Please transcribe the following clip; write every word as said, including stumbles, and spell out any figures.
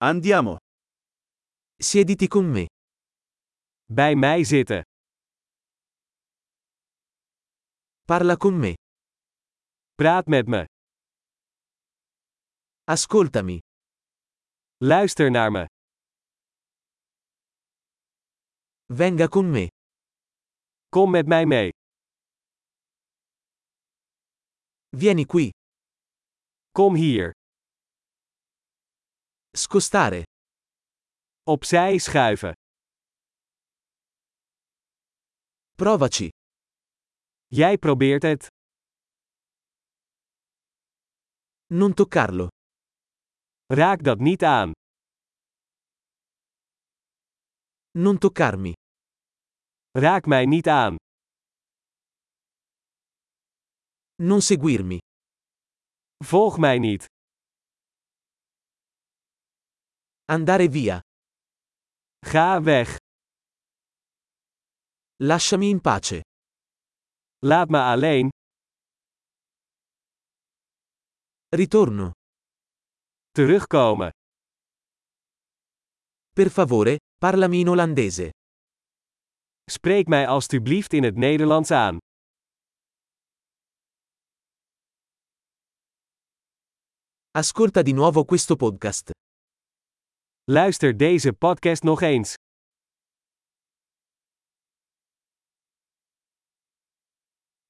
Andiamo. Siediti con me. Bij mij zitten. Parla con me. Praat met me. Ascoltami. Luister naar me. Venga con me. Kom met mij mee. Vieni qui. Kom hier. Scostare. Opzij schuiven. Provaci. Jij probeert het. Non toccarlo. Raak dat niet aan. Non toccarmi. Raak mij niet aan. Non seguirmi. Volg mij niet. Andare via. Ga weg. Lasciami in pace. Laat me alleen. Ritorno. Terugkomen. Per favore, parlami in olandese. Spreek mij alstublieft in het Nederlands aan. Ascolta di nuovo questo podcast. Luister deze podcast nog eens.